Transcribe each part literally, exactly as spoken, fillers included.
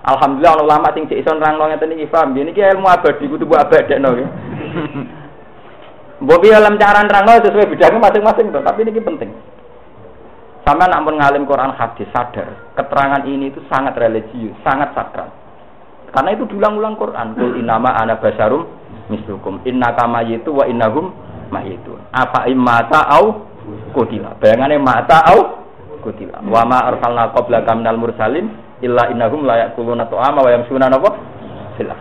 Alhamdulillah ana ulama sing cek iso nerangno ngeten iki paham. Niki ilmu abadi kudu mbok abadekno nggih. Mbok piye alam cara nerangno sesuai bidangnya masing-masing to, tapi niki penting. Sampai nak pun ngalim Quran hadis sadar, keterangan ini itu sangat religius, sangat sakral. Karena itu diulang-ulang Quran. Qul innama ana basyarum mislukum innaka mayyitu wa innahum mayyitun. Apa immata au qutila. Bayangane mata au qutila. Wa ma arsalna qablaka minal mursalin illa innahum la yaquluna ta'ama wa yamshuna napa? Silah.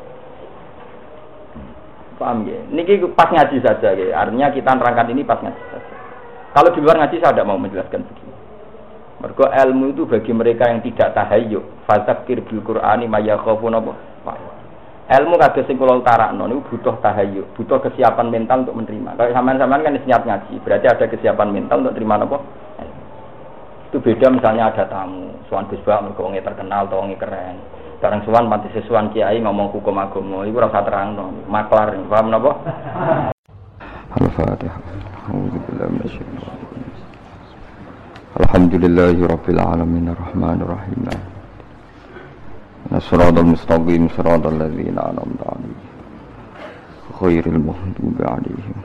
Paham ya? Niki pas ngaji saja ya. Artinya kita nerangkan ini pas ngaji saja. Kalau di luar ngaji saya tidak mau menjelaskan begini. Mergo ilmu itu bagi mereka yang tidak tahayyuk. Fadzakir bil Qur'ani may yakhafuna apa? Ilmu kados sing kula utarakno niku butuh tahayyuk, butuh kesiapan mental untuk menerima. Kalau sampean-sampean kan niat ngaji, berarti ada kesiapan mental untuk terima apa? Itu beda misalnya ada tamu, sowan Gus Bak mergo wong terkenal atau wong keren. Bareng sowan pati sesuwan kiai ngomong hukum agama, iku ora usah terangno, maklar, paham napa? Al-Fatihah. A'udzubillahi minasyaitonir rajim. Alhamdulillahirabbil alamin arrahmanir rahim. Nasratul mustaqim siratal ladzina an'amta 'alaihim ghairil maghdubi 'alaihim.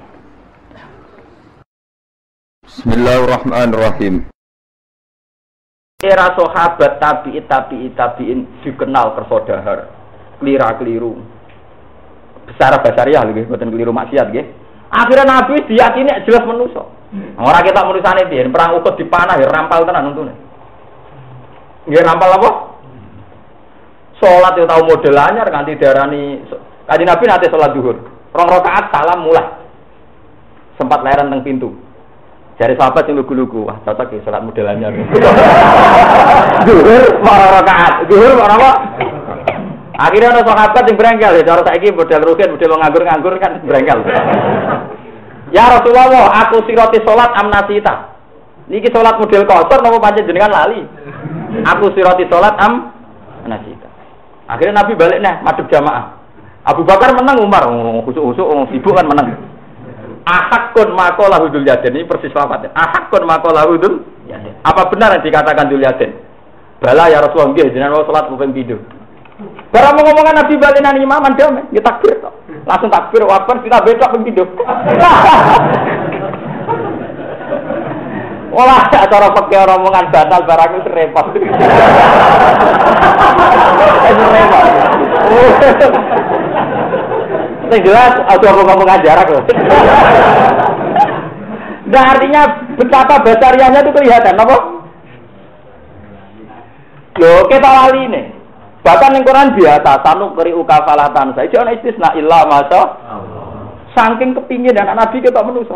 Bismillahirrahmanirrahim. Era sahabat tabi'in tabi'in tabi'in dikenal kersodahar, kelira-keliru. Besar basariah nggih, mboten keliru maksiat nggih. Akhirnya Nabi diyakini jelas manusa. Ora ketok manusane piye, perang Uhud dipanah ya rampal tenan untune. Nggih rampal apa? Salat yo tau model anyar kanthi diarani Kanjeng Nabi nate salat zuhur. Rong rakaat salam mulai. Sempat leren teng pintu. Jare sahabat sing lugu-lugu, wah cocok ya salat modelannya. Zuhur marang rakaat, zuhur marang apa? Akhirnya ada sahabat yang berengkel ya, cara saiki model rugen, model nganggur-nganggur kan berengkel. Ya Rasulullah, aku siroti salat amnasita. Niki salat model kotor napa pancen jenengan lali? Aku siroti salat amnasita. Akhirnya Nabi balik nah, madhep jamaah. Abu Bakar menang, Umar khusuk-khusuk sibuk kan menang. Ahakun makola hudul yaden, ini persis lafadznya. Ahakun makola hudul yaden. Apa benar yang dikatakan hudul yaden? Bala ya Rasulullah, nggih jenengan mau salat mungkin tidur. Barang mau ngomongan Nabi balinan imaman damai, ya takbir kok. Langsung takbir wabar kita bedok pun tidur. Olah cara pakai rombongan batal barang itu repot. Itu repot. Yang jelas, aku ngomong ajarak loh. Nah artinya betapa basariahnya itu kelihatan, apa? Loh, kita lali nih. Bahkan yang Quran biasa, tanu keri ukafalatan saya. Jangan istisna illa masa. Saking kepingin dan Nabi kita menuso.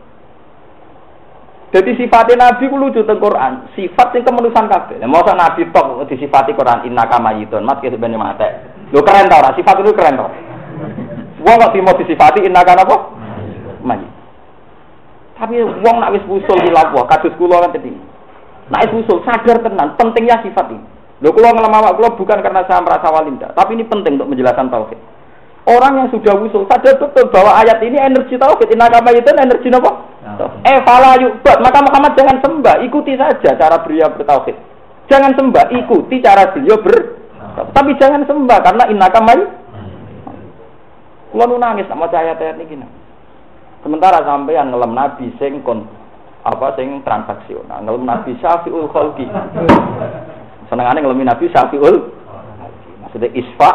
Jadi sifatnya Nabi ku lucu teng Quran. Sifat yang kemenusan kabeh. Lah mosok Nabi tok disifati Quran innaka mayyitun. Mat kene ben mate. Lho keren ta ora? Sifat itu keren ta? Wong kok mau disifati innaka napa? Mayyit. Tapi wong nak wis usul hilaf wae kados kula kan tadi. Nak wis usul sadar tenan pentingnya sifat ini. Lho kula ngelam awak kula bukan karena saya merasa walinda, tapi ini penting untuk menjelaskan tauhid. Orang yang sudah usul sadar betul bahwa ayat ini energi tauhid, innaka mayyitun energi napa? Eh fala yu'bad, maka Muhammad jangan sembah, ikuti saja cara beliau bertauhid. Jangan sembah, ikuti cara beliau ber. Tapi jangan sembah karena innaka mayyitun. Kula nu nangis sama ayat-ayat niki. Sementara sampean ngelem nabi sing kon apa sing transaksional, ngelem nabi syafiul khalqi. Senengane ngelem nabi syafiul maksudnya isfa.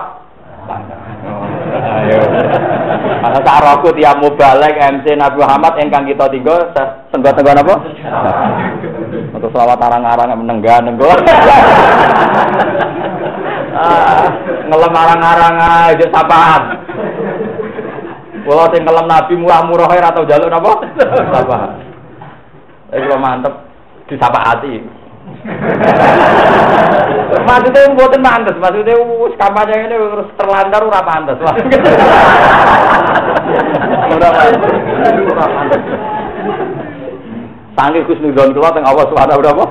Ayo. Masa sak roku tiap mubalek M C Nabi Muhammad ingkang kita tinggal senggo-senggo napa? Untuk selawat arang-arang menenggah nenggo. Ah, ngelem arang-arang aja sapaan. Kalau sing kelem Nabi murah-murah ora tau njaluk napa? Apa? Eh kula mantep disapaati. Maksudnya mboten pantes, maksudnya wis kampanye ngene terus terlantar ora pantes. Ora pantes. Ora pantes. Sange kusnudon kula teng awas suara berapa?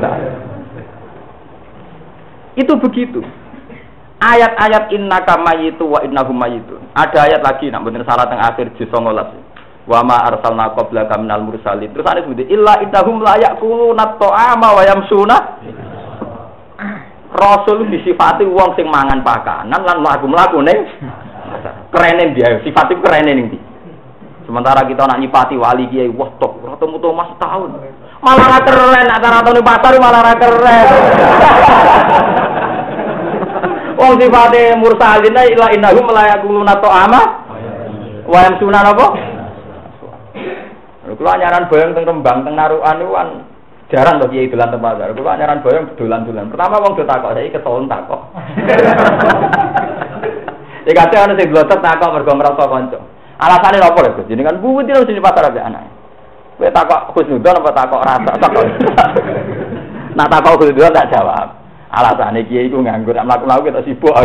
Itu begitu. Ayat-ayat innaka mayyitu wa innahum mayyitun. Ada ayat lagi nak bener salah teng akhir juz sembilan belas. Wa ma arsalna qablaka minal mursalin. Terus ana sebut illa innahum la yaquluna ta'ama wa yamsuna. Rasul disifati wong sing mangan pakanan lan mlaku-mlaku ning kerene dia, sifat itu kerene ning ndi. Sementara kita nak nyipati wali kiai, wah tok, ora temu mas tahun. Malah ra keren, nak rata ning pasar malah ra keren. Wong sifate mursalin ila innahum la yaquluna ta'ama wa yamsuna apa? Kulo anyaran boyong teng Rembang, teng Narukan niku kan jarang to kiai dolan teng pasar. Kulo anyaran boyong dolan-dolan. Pertama wong do takok, saiki ketolong takok. Ya kate ana sing blotot takok mergo ngrasa kanca. Alasane napa lho, Gus? Jenengan buwit terus di pasar ambek anake. Kowe takok Husnudon apa takok rasa takok. Nak takok Husnudon tak jawab. Alasane kiai iku nganggur, nak mlaku-mlaku ketok sibuk.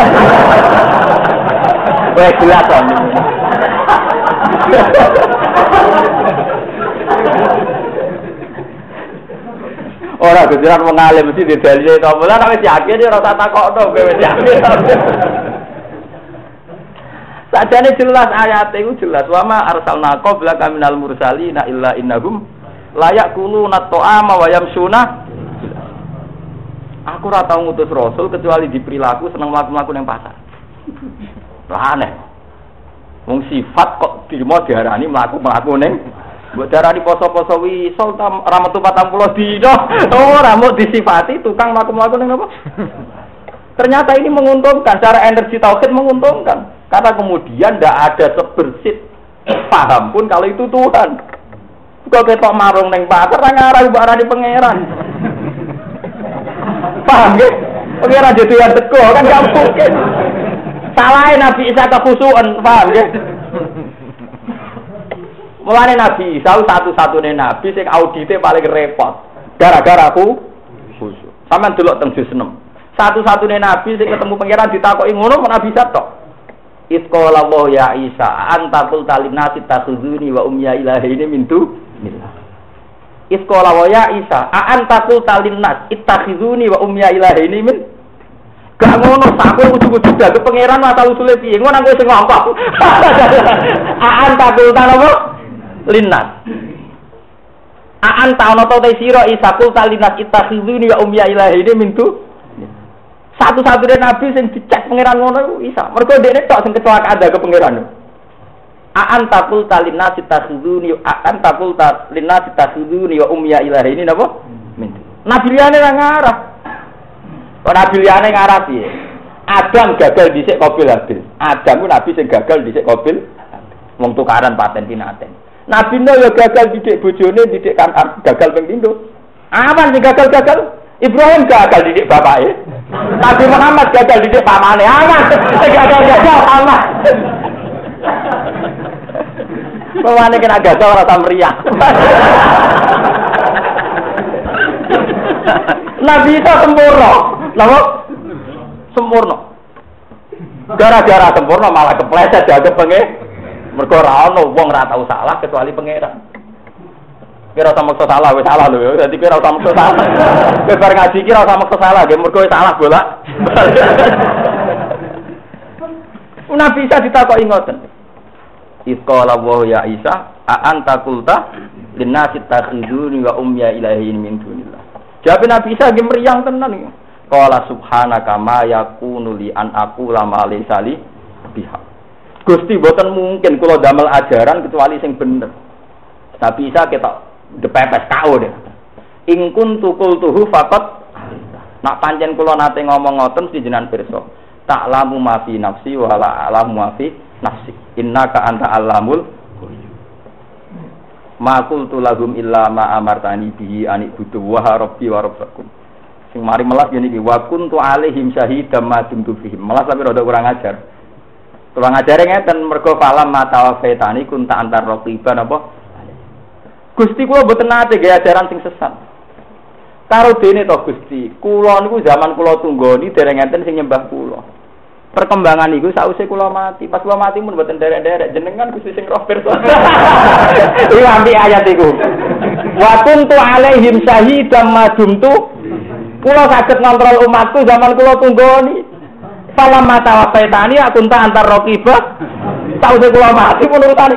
Kowe jelas to. Ora kejaran wong alim mesti didalile to. Mula nek wis yakin ora tak takokno kowe wis yakin. Sajane jelas ayat iku jelas wa ma arsalna qablaka minal mursalina illa innahum la yaquluna ta'ama wa yamsuna. Aku ora tau ngutus rasul kecuali di perilaku seneng mlaku-mlaku ning pasar. Lah aneh. Wong sifat kok dirimo diarani mlaku-mlaku ning mbok darani poso-poso wisol ora metu patang puluh dina. Ora mau disifati tukang mlaku-mlaku ning apa? Ternyata ini menguntungkan, secara energi tauhid menguntungkan. Karena kemudian tidak ada sebersih paham pun kalau itu Tuhan. Kalau ketok marung neng pasar, ngarah ibarat di pangeran. Paham ya? Pangeran jadi yang teko kan gak mungkin. Salahin Nabi Isa kefusuan, paham ya? Mulane Nabi Isa satu-satunya Nabi sing audite paling repot. Gara-gara aku khusyuk. Sampeyan delok teng juz enam. Satu-satunya Nabi sing ketemu pangeran ditakoki ngono Nabi Isa tok. Isqala Allah ya Isa anta qul talinasi takhuzuni wa umya ilahi min dunillah. Isqala wa ya Isa anta qul talinnas ittakhizuni wa umya ilahi min. Gak ngono sampe ujug-ujug dadi pangeran asal usule piye ngono nang sing ngomong. Anta qul talapa linnas. Anta ana ta sira Isa qul talinnas ittakhizuni wa umya ilahi min dunillah. Satu-satunya Nabi sing dicek pangeran ngono Isa. Mergo dekne tok sing kecelakaan ada ke pangeran. Aan taqul talinnas takhuduni aan taqul talinnas takhuduni wa umya ilahi ini napa? Nabi liyane ra ngarah. Kok nabi liyane ngarah piye? Adam gagal dhisik Qabil Habil. Adam ku nabi sing gagal dhisik Qabil. Wong tukaran paten pinaten. Nabi Nuh yo gagal didik bojone didik kan gagal ping pindho. Aman sing gagal-gagal? Ibrahim gagal didik bapake. Nabi Muhammad gagal didik pamane. Aman. Gagal-gagal aman. Pamane kena gagal ora samriah. Nabi itu sempurna. Napa? Sempurna. Gara-gara sempurna malah kepleset dianggap pengen. Mergo ora ono wong ora tau salah kecuali pangeran. Kira sama maksa salah, wis salah lho. Dadi kira sama maksa salah. Kowe bar ngaji kira sama maksa salah, nggih mergo salah bolak. Nabi Isa ditakoki ngoten. Isqala wa ya Isa, a anta qulta linnasi takhuduni wa umya ilahi min dunillah. Jawab Nabi Isa nggih mriyang tenan iki. Qala subhanaka ma yakunu li an aqula ma laysa li biha. Gusti boten mungkin kula damel ajaran kecuali sing bener. Nabi Isa ketok depepes kau deh. In kuntu qultuhu faqat nak pancen kula nate ngomong ngoten mesti jenengan pirsa. Ta'lamu ma fi nafsi wa la a'lamu ma fi nafsi. Innaka anta allamul ghuyub. Ma qultu lahum illa ma amartani bihi an ibudu wa rabbi wa rabbakum. Sing mari melas ngene iki wa kuntu alaihim syahidam ma dumtu fihim. Melas tapi rada kurang ajar. Kurang ajare ngeten mergo falam mata faitani kunta antar raqiban apa? Gusti kula mboten nate nggih ajaran sing sesat. Karo dene to Gusti, kula niku zaman kula tunggoni dereng enten sing nyembah kula. Perkembangan niku sause kula mati. Pas kula mati mun mboten derek-derek jenengan Gusti sing roh pirsa. Iki ambi ayat iku. Wa kuntu alaihim syahidam ma dumtu. Kula saged ngontrol umatku zaman kula tunggoni. Salam mata wafaitani aku tak antar raqibah. Sause kula mati mun urutane.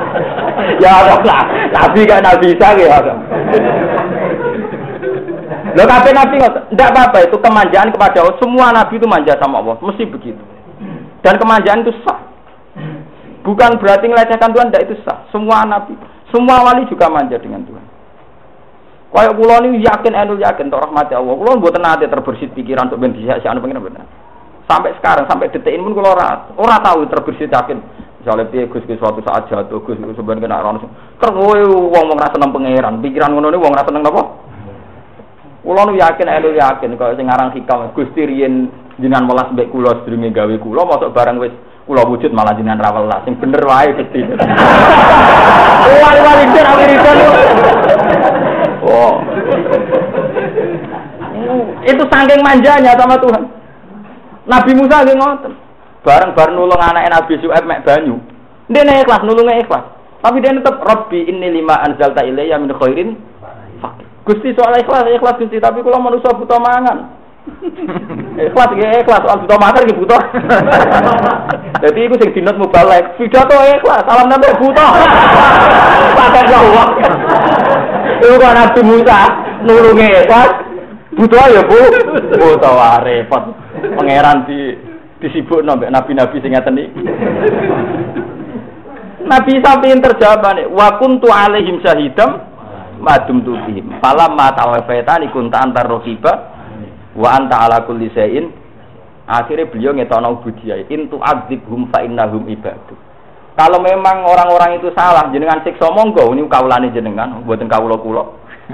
Ya Allah, Nabi kan Nabi Isa ya. Loh kabeh nabi ngoten. Ndak apa-apa itu kemanjaan kepada Allah. Semua nabi itu manja sama Allah, mesti begitu. Dan kemanjaan itu sah. Bukan berarti melecehkan Tuhan, ndak itu sah. Semua nabi, semua wali juga manja dengan Tuhan. Kayak kula niku yakin enul yakin tok rahmati Allah. Kula mboten nate terbersit pikiran untuk ben disiak-siakno pengen bener. Sampai sekarang, sampai detik ini pun kula ora ora tahu terbersit yakin. Misalnya piye Gus Gus suatu saat jatuh Gus Gus sebenarnya kena ora terus wong wong ra seneng pangeran. Pikiran ngono niku wong ra seneng napa? Kula nu yakin enul yakin kaya sing aran hikam Gusti riyen jenengan welas mbek kula sedurunge gawe kula mosok barang wis kula wujud malah jenengan ra welas. Sing bener wae Gusti. Wali-wali den Amerika. Oh. Itu saking manjanya sama Tuhan. Nabi Musa nggih ngoten. Bareng-bareng nulung anake Nabi Syuaib mek banyu. Ndene ikhlas nulunge ikhlas. Tapi dia tetep Rabbi inni lima anzalta ilayya min khairin faqir. Gusti soal ikhlas ikhlas Gusti, tapi kula manusa buta mangan. Ikhlas nggih ikhlas, soal buta mangan nggih buta. Dadi iku sing dinut mubalek, pidato ikhlas, salam nembek buta. Pakai Allah. Iku kan Nabi Musa nulunge ikhlas. Buta ya Bu. Buta wae repot. Pangeran di disibukno mbek nabi-nabi sing ngeten iki. Nabi sampeyan terjawabane wa kuntu alaihim syahidam madum tubihim. Falamma tawafaitani kunta antar raqiba wa anta ala kulli syai'in. Akhirnya beliau ngetokno ubudiyah intu adzibhum fa innahum ibadu. Kalau memang orang-orang itu salah jenengan siksa monggo niku kawulane jenengan mboten kawula kula.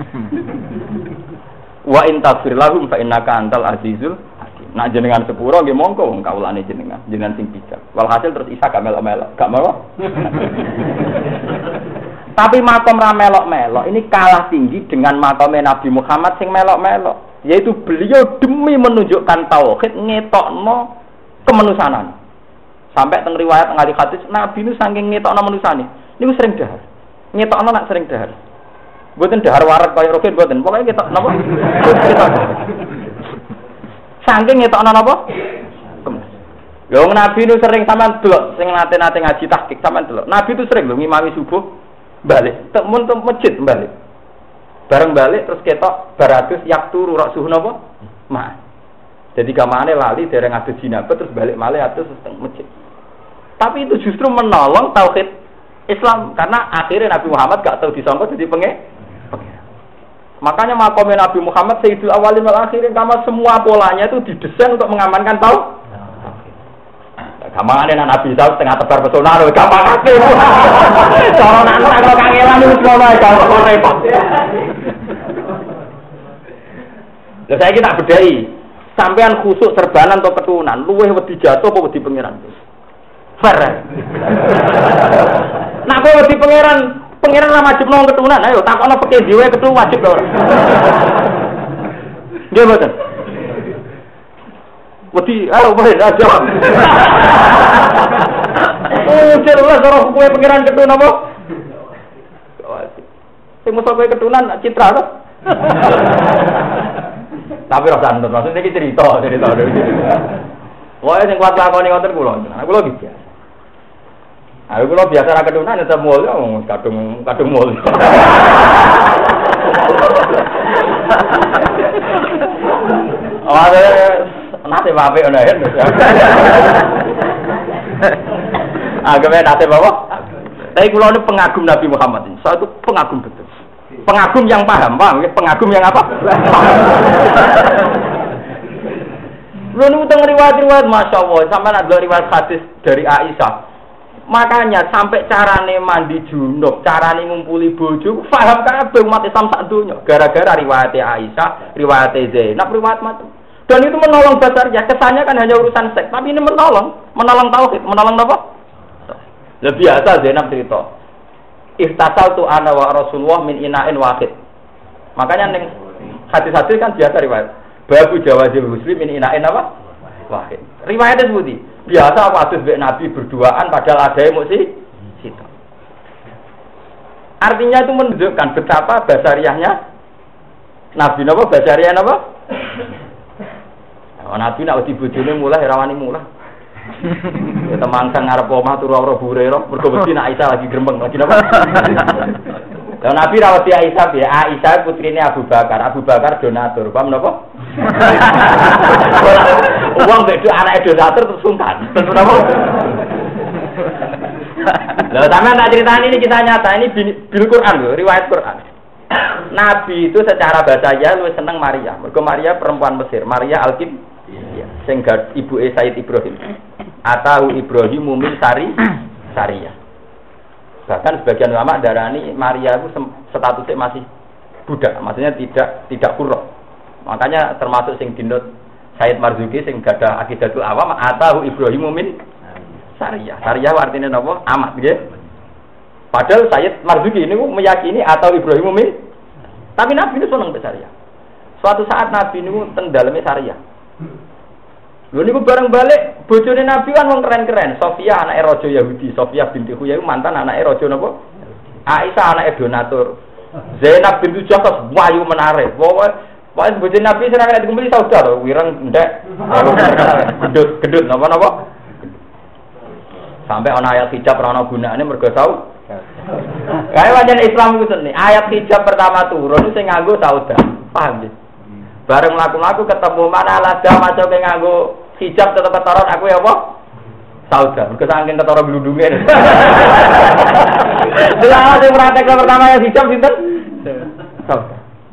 Wa in taghfir lahum fa innaka antal azizul. Nak jenengan sepuro nggih monggo wong kawulane jenengan, jenengan sing bijak. Walhasil terus Isa gak melok-melok, gak melok. Tapi makom ra melok-melok ini kalah tinggi dengan makomnya Nabi Muhammad sing melok-melok, yaitu beliau demi menunjukkan tauhid ngetokno kemanusanan. Sampai teng riwayat ngali hadis Nabi nu saking ngetokno manusane, niku sering dahar. Ngetokno nak sering dahar. Mboten dahar waret kaya rogen mboten, pokoke ketok napa? Saking ngetokno napa? Lho Nabi itu sering sampean delok sing nate-nate ngaji tahqiq sampean delok. Nabi itu sering lho ngimami subuh balik, temun teng masjid balik. Bareng balik terus ketok baratus yakturu rak suhu napa? Ma. Jadi gamane lali dereng adu jinabah terus balik malih atus teng masjid. Tapi itu justru menolong tauhid Islam karena akhirnya Nabi Muhammad gak tahu disangka jadi penge. Makanya makomnya Nabi Muhammad Sayyidul Awalin wal Akhirin karena semua polanya itu didesain untuk mengamankan tau. Gampangane Nabi Isa setengah tebar pesona lho, gampang kabeh. Cara nak ora kangelan wis ngono ae gampang repot. Lah saiki tak bedhai. Sampean khusuk serbanan atau keturunan, luweh wedi jatuh apa wedi pangeran? Fair. Nak kowe wedi pangeran Pengiran lah wajib nong keturunan, ayo takokno peke dhewe ketu wajib lho ora. Nggih mboten. Wedi ayo bae aja. Oh, jelas ora kowe pengiran keturunan apa? Wajib. Sing mosok kowe keturunan citra to. Tapi ora santet, maksudnya iki cerita, cerita. Wae sing kuat lakoni ngoten kula. Kula iki biasa. Aku kalau biasa ra kedunan tetep mul kadung kadung mul. Oh, ada nate wae ana ya. Agame nate bawa. Tapi kula ini pengagum Nabi Muhammad ini. Saya itu pengagum betul. Pengagum yang paham, paham? Pengagum yang apa? Lu teng riwayat-riwayat Masya Allah, sampai ada riwayat hadis dari Aisyah. Makanya sampai carane mandi junub, carane ngumpuli bojo, paham kabeh umat Islam sak donya. Gara-gara riwayat Aisyah, riwayat Zainab, riwayat macam. Dan itu menolong basarnya. Kesannya kan hanya urusan seks, tapi ini menolong, menolong tauhid, menolong apa? Ya biasa Zainab cerita. Ihtasaltu ana wa Rasulullah min ina'in wahid. Makanya ning hadis-hadis kan biasa riwayat. Babu jawazil muslim min ina'in apa? Wahid. Riwayatnya seperti biasa waktu Nabi berduaan padahal ada emosi situ. Artinya itu menunjukkan betapa basariahnya Nabi napa basariah napa? Oh, Nabi nak wedi bojone mulai rawani mulai. Temang sang ngarep omah turu ora bure ro, mergo wedi nak Aisyah lagi grembeng lagi napa? Lah Nabi rawat dia Aisyah ya, Aisyah putrine Abu Bakar, Abu Bakar donatur, paham napa? Wong bedo anake donatur terus sungkan. Terus napa? Lah sampeyan tak critani ini kisah nyata, ini bil Quran lho, riwayat Quran. Nabi itu secara bahasa luwih seneng Maria. Mergo Maria perempuan Mesir, Maria Al-Qib sing ibuke Sayyid Ibrahim. Atau Ibrahim min Sari Sariyah. Bahkan sebagian ulama darani Maria itu statusnya masih budak, maksudnya tidak tidak huruf. Makanya termasuk sing dinut Sayyid Marzuki sing gadah akidatul awam atau Ibrahim min Sariyah. Sariyah artinya napa? Amat nggih. Padahal Sayyid Marzuki ini meyakini atau Ibrahim min, tapi Nabi itu seneng Sariyah. Suatu saat Nabi ini teng daleme Sariyah. Lho niku bareng balik bojone Nabi kan wong keren-keren. Sofia anake raja Yahudi, Sofia binti Huyai mantan anake raja napa? Aisyah anake donatur. Zainab binti Jahsh wayu menarik. Pokoke pokoke bojone Nabi sing nek dikumpuli saudar to, wireng ndek. Gedut-gedut napa-napa? Sampai ana ayat hijab ora ana gunane mergo tau. Kae wajan Islam iku seni. Ayat hijab pertama turun sing nganggo saudar. Paham nggih? Bareng mlaku-mlaku ketemu mana lada maca ke nganggo hijab tetep ketoron aku ya apa? Saudar. Mergo saking ketara glundunge. Delala sing praktek pertama ya hijab sinten? Saudar.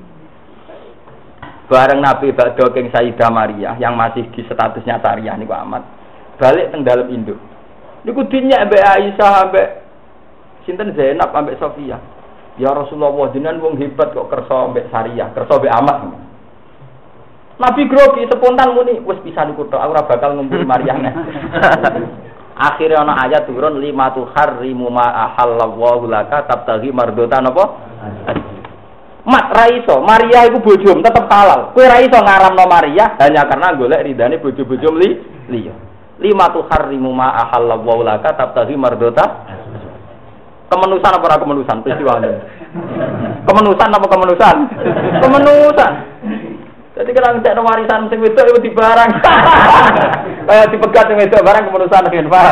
Bareng Nabi badhe king Sayyidah Maria yang masih di statusnya Sariyah niku amat. Balik teng dalem induk. Niku dinyak mbek Aisyah mbek sinten Zainab ambek Sofia. Ya Rasulullah jenengan wong hebat kok kersa mbek Sariyah, kersa mbek amat. Nabi grogi spontan muni, wis bisa niku tok, aku ora bakal ngumpul Maryam. Akhire ana ayat turun lima tu harrimu ma ahallallahu laka tabtaghi mardatan apa? Mat ra iso, Maria iku bojomu tetep halal. Kowe ra iso ngaramno Maria hanya karena golek ridane bojo-bojo li liya. Lima tu harrimu ma ahallallahu laka tabtaghi mardatan. Kemenusan apa ora kemenusan peristiwa ini? Kemenusan apa kemenusan? Kemenusan. Jadi kalau ngecek warisan sing wedok itu di barang. Kayak dipegat sing wedok barang kemenusan kan, Pak.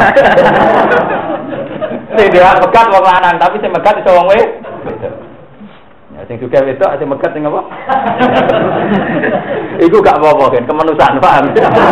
Sing dia pegat wong lanang, tapi sing megat iso wong wedok. Ya sing juga wedok sing megat sing apa? Iku gak apa-apa kan, kemenusan, paham.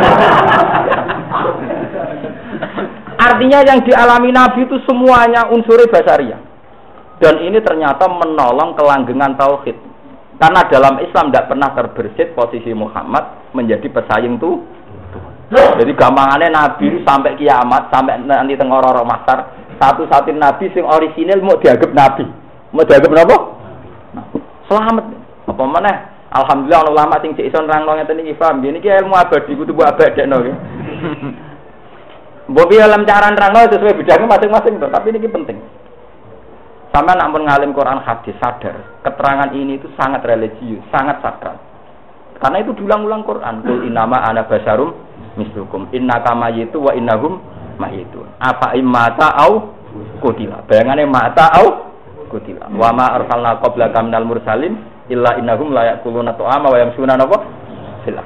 Artinya yang dialami Nabi itu semuanya unsur basariah. Dan ini ternyata menolong kelanggengan tauhid. Karena dalam Islam tidak pernah terbersit posisi Muhammad menjadi pesaing tuh. Jadi gampangannya Nabi sampai kiamat, sampai nanti tengah orang mahsyar, satu-satunya Nabi sing orisinil mau dianggap Nabi. Mau dianggap apa? Selamat. Apa mana? Alhamdulillah ulama sing cek iso nerangno ngeten iki paham. Niki ilmu abadi kudu mbok abadekno nggih. Mbok piye alam cara nerangno sesuai bidangnya masing-masing to, tapi niki penting. Sama nak mengalim Quran hadis sadar keterangan ini itu sangat religius, sangat sakral. Karena itu diulang-ulang Quran. Qul innama ana basyarum mislukum innaka mayyitu wa innahum mayyitun. Apa immata au qutila. Bayangane mata au qutila. Wa ma arsalna qablaka minal mursalin illa innahum la yaquluna ta'ama wa yamshuna napa? Silah.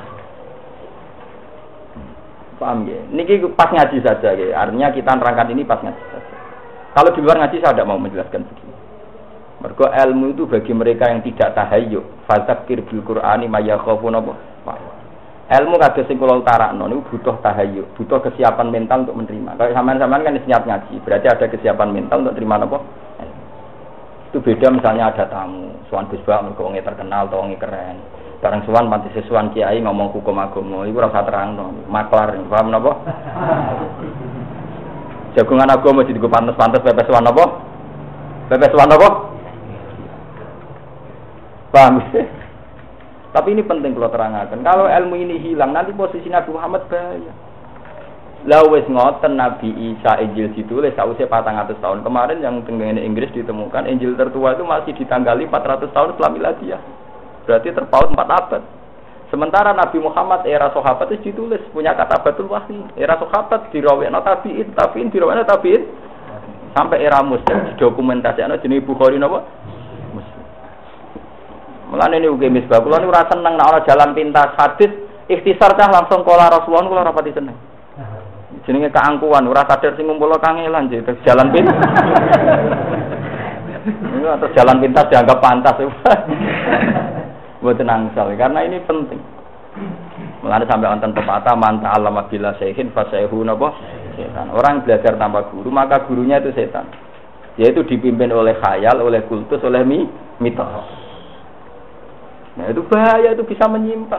Paham ya? Niki pas ngaji saja ya. Artinya kita nerangkan ini pas ngaji saja. Kalau di luar ngaji saya tidak mau menjelaskan begini. Mergo ilmu itu bagi mereka yang tidak tahayyuk. Fadzakir bil Qur'ani may yakhafuna apa? Ilmu kados sing kula utarakno niku butuh tahayyuk, butuh kesiapan mental untuk menerima. Kalau sampean-sampean kan niat ngaji, berarti ada kesiapan mental untuk terima apa? Itu beda misalnya ada tamu, sowan Gus Bak mergo wong terkenal atau wong keren. Bareng sowan panti sesuwan kiai ngomong hukum agama, iku ora usah terangno, maklar, paham napa? Jagungan agama mesti digo pantes-pantes pepes wan apa? Pepes wan apa? Paham? Tapi ini penting kalau terangkan. Kalau ilmu ini hilang, nanti posisi Nabi Muhammad bahaya. Lah wis ngoten Nabi Isa Injil ditulis sausé patang atus tahun. Kemarin yang tengene Inggris ditemukan Injil tertua itu masih ditanggali empat ratus tahun setelah miladiah. Berarti terpaut empat abad. Sementara Nabi Muhammad era sahabat itu ditulis punya kata batul wahyi. Era sahabat dirawekno tabi'in, tabi'in dirawekno tabi'in sampai era Muslim didokumentasikno jenenge Bukhari napa? Muslim. Mulane niku ge misbah kula niku ora seneng nek ana jalan pintas hadis ikhtisar cah langsung kala Rasulullah kula ora pati seneng. Jenenge keangkuhan ora sadar sing ngumpulno kangelan jalan pintas. Atau jalan pintas dianggap pantas. Buat nangsal karena ini penting. Mulane sampai wonten pepatah man ta'allama bila syai'in fa syai'hu napa setan. Orang belajar tanpa guru, maka gurunya itu setan. Yaitu dipimpin oleh khayal, oleh kultus, oleh mi, mitos. Nah, itu bahaya, itu bisa menyimpang.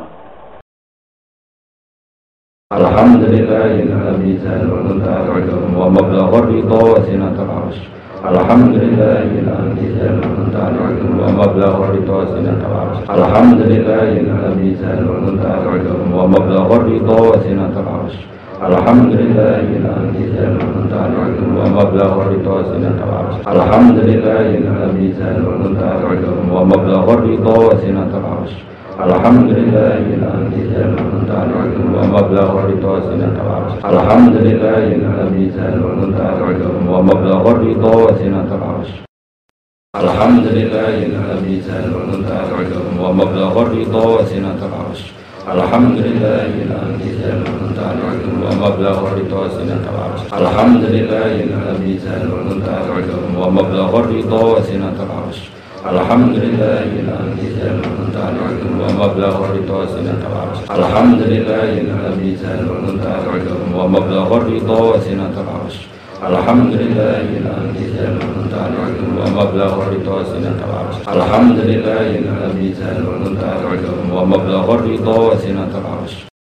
Alhamdulillahilladzi zalala wa mablagha ridha wa sinatul arsh. Alhamdulillahilladzi zalala wa mablagha ridha wa sinatul arsh. Alhamdulillahilladzi zalala wa mablagha ridha wa sinatul arsh. Alhamdulillahilladzi zalala wa mablagha ridha wa sinatul arsh. Alhamdulillahilladzi zalala wa mablagha ridha wa sinatul arsh. Alhamdulillahilladzi zalala wa mablagha ridha wa sinatul arsh. Alhamdulillahilladzi zalala wa mablagha ridha wa sinatul arsh. Alhamdulillahilladzi zalala wa mablagha ridha wa sinatul arsh. Alhamdulillahilladzi zalala wa mablagha ridha wa sinatul arsh. Alhamdulillahilladzi zalala wa mablagha ridha wa sinatul arsh. Alhamdulillahilladzi zalala wa mablagha ridha wa sinatul arsh. Alhamdulillahilladzi zalala wa mablagha ridha wa sinatul arsh. Alhamdulillahilladzi zalala wa mablagha ridha wa sinatul arsh. Alhamdulillahilladzi zalala wa mablagha ridha wa sinatul arsh.